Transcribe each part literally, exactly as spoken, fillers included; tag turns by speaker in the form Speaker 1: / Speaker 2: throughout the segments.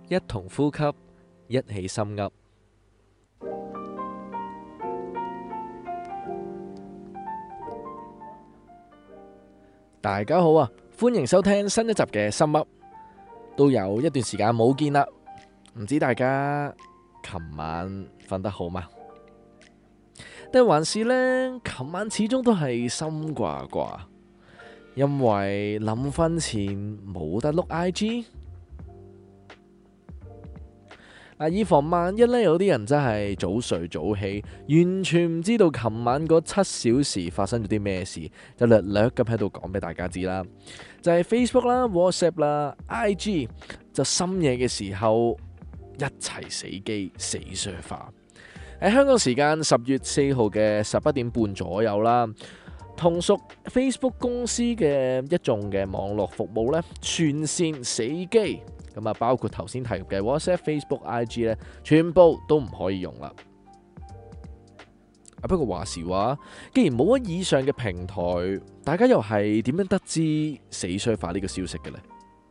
Speaker 1: 一同呼吸，一起心噏。大家好啊，歡迎收聽新一集嘅心噏。都有一段時間冇見啦，唔知大家琴晚瞓得好嗎？定還是呢？琴晚始終都係心掛掛，因為臨瞓前冇得碌 I G。以防萬一呢，有啲人真係早睡早起，完全唔知道琴晚嗰七小時發生咗啲咩事，就略略咁喺度講俾大家知啦。就係 Facebook 啦、WhatsApp 啦、I G， 就深夜嘅時候一齊死機死沙化。喺香港時間十月四號嘅十一點半左右啦，同屬 Facebook 公司嘅一眾嘅網絡服務呢，全線死機。咁啊，包括頭先提及嘅 WhatsApp、Facebook、I G 咧，全部都唔可以用啦。啊，不過話時話，既然冇乜以上嘅平台，大家又係點樣得知死衰化呢個消息嘅呢？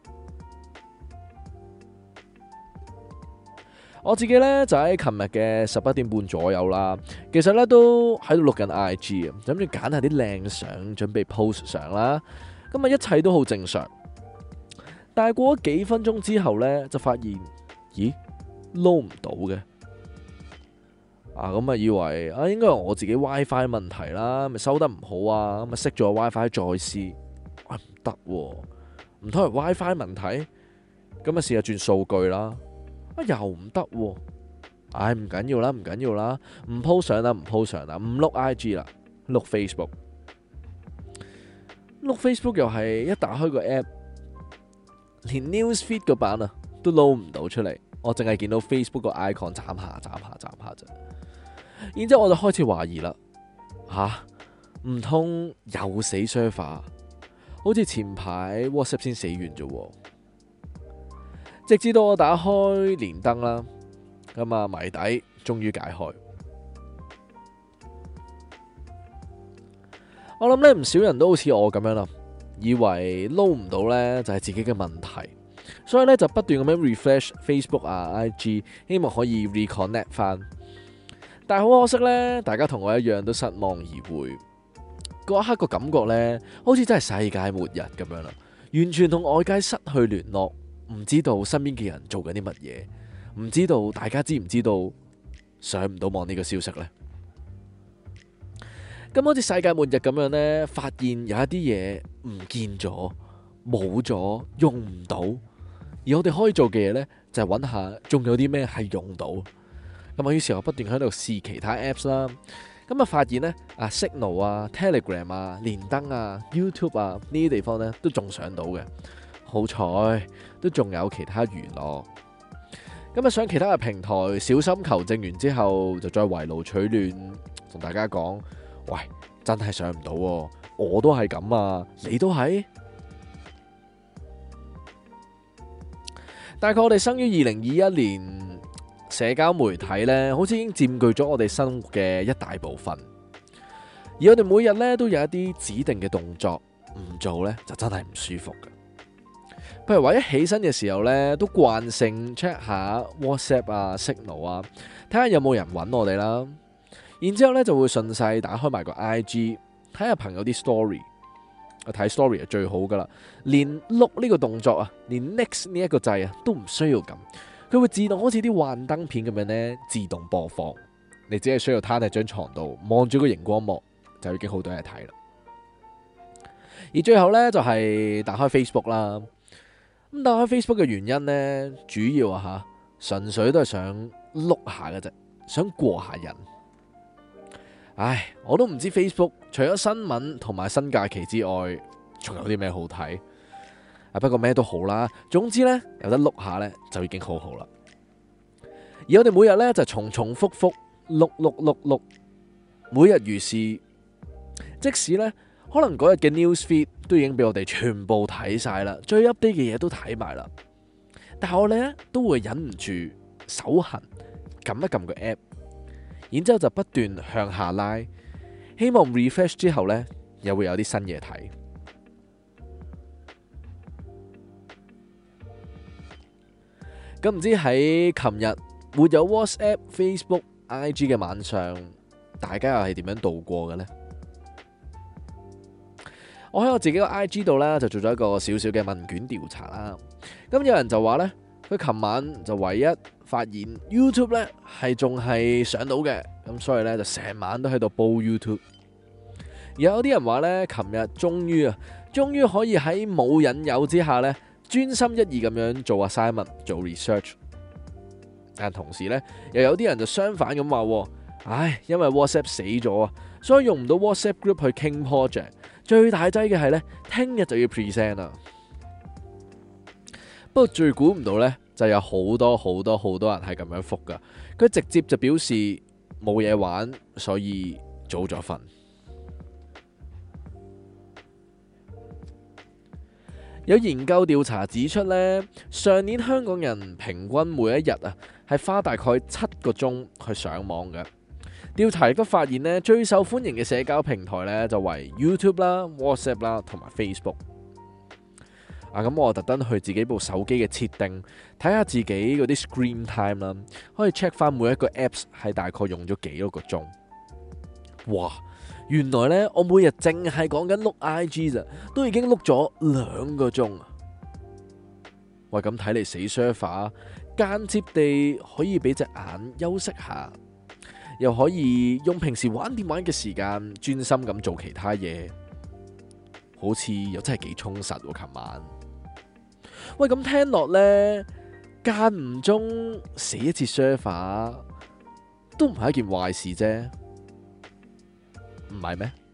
Speaker 1: 我自己呢，就喺琴日嘅十一點半左右啦，其實呢都喺度錄緊 I G 啊，諗住揀下啲靚相，準備 post 相啦。咁啊，一切都好正常。但係過咗幾分鐘之後呢，就發現，咦，撈唔到嘅。啊，咁啊以為啊應該係我自己 WiFi 問題啦，咪收得唔好啊，咁啊熄咗 WiFi 再試，啊唔得喎，唔通係 WiFi 問題？咁啊試下轉數據啦，啊又唔得喎，唉唔緊要啦，唔緊要啦，唔 po 相啦，唔 po 相啦，唔碌 I G 啦，碌 Facebook，碌 Facebook 又係一打開個 app。連 Newsfeed 個版啊都撈唔到出嚟，我淨係見到 Facebook 個 icon 眨下眨下眨下啫。然之後我就開始懷疑啦，吓唔通又死 server？好似前排 WhatsApp 先死完啫。直至到我打開連登啦，咁啊謎底終於解開。我諗咧唔少人都好似我咁樣啦。以為撈唔到呢就係自己嘅問題，所以呢就不斷咁樣 refresh Facebook 啊 I G， 希望可以 reconnect 翻。但係好可惜呢，大家同我一樣都失望而回。嗰一刻個感覺呢，好似真係世界末日咁樣啦，完全同外界失去聯絡，唔知道身邊嘅人做緊啲乜嘢，唔知道大家知唔知道上唔到網呢個消息呢？咁好似世界末日咁樣呢，發現有一啲嘢唔見咗、冇咗、用唔到，而我哋可以做嘅嘢呢，就係揾下仲有啲咩係用到。咁啊，於是我不斷喺度試其他 apps 啦。咁啊，發現呢，啊 Signal 啊、Telegram 啊、連登啊、YouTube 啊呢啲地方呢，都仲上到嘅。好彩都仲有其他娛樂。咁啊，上其他嘅平台，小心求證完之後，就再圍爐取暖，同大家講。喂，真係上唔到喎，我都係咁啊，你都係？大概我哋生於二零二一年，社交媒體呢好似已經佔據咗我哋生活嘅一大部分。而我哋每日呢都有一啲指定嘅動作，唔做呢就真係唔舒服嘅。譬如話一起身嘅時候呢，都慣性 check 下 WhatsApp 啊、Signal 啊，睇下有冇人揾我哋啦。然之後咧就會順勢打開埋個 I G 睇下朋友啲 story， 睇 story 係最好噶啦，連碌呢個動作啊，連 next 呢一個掣啊都唔需要撳，佢會自動好似啲幻燈片咁樣咧自動播放，你只係需要攤喺張床度望住個熒光幕就已經好多嘢睇啦。而最後咧就係打開 Facebook 啦，咁打開 Facebook 嘅原因咧主要啊吓，純粹都係想碌下嘅啫，想過下癮。唉，我都唔知 Facebook 除咗新聞同埋新假期之外，仲有啲咩好睇啊？不過咩都好啦，總之呢，有得碌下呢，就已經好好啦。而我哋每日呢，就重重複複碌碌碌碌，每日如是。即使呢，可能嗰日嘅 newsfeed 都已經俾我哋全部睇晒啦，最 update 嘅嘢都睇埋啦，但係我哋呢，都會忍唔住手痕撳一撳個 app。然之後就不斷向下拉，希望 refresh 之後呢，又會有啲新嘢睇。 咁唔知喺琴日沒有 WhatsApp、Facebook、I G 嘅晚上，大家又係點樣度過嘅呢？我喺我自己個 I G 度呢，就做咗一個小小嘅問卷調查啦。咁有人就話呢，佢琴晚就唯一發現 YouTube 呢係仲係上到嘅，咁所以呢，就成晚都喺度煲 YouTube。而有啲人話呢，琴日終於啊，終於可以喺冇引誘之下呢，專心一意咁樣做 assignment、做 research。但同時呢，又有啲人就相反咁話，唉，因為 WhatsApp 死咗啊，所以用唔到 WhatsApp group 去傾 project。最大劑嘅係呢，聽日就要 present 啦。不過最估唔到呢，就有好多好多好多人係咁樣覆噶。佢直接就表示冇嘢玩，所以早咗瞓。有研究調查指出呢，上年香港人平均每一日啊係花大概七個鐘去上網嘅。調查亦都發現呢，最受歡迎嘅社交平台呢就為 YouTube 啦、WhatsApp 啦同埋 Facebook。啊，咁我特登去自己部手機嘅設定睇下自己嗰啲 screen time 啦，可以 check 翻每一個 apps 係大概用咗幾多個鐘。哇！原來呢，我每日淨係講緊碌 I G 咋，都已經碌咗兩個鐘啊！喂，咁睇嚟死 server，間接地可以俾隻眼休息下。又可以用平時玩電話嘅時間專心咁做其他嘢，好似又真係幾充實喎。琴晚，喂，咁聽落呢，間唔中死一次 server 都唔係一件壞事啫，唔係咩？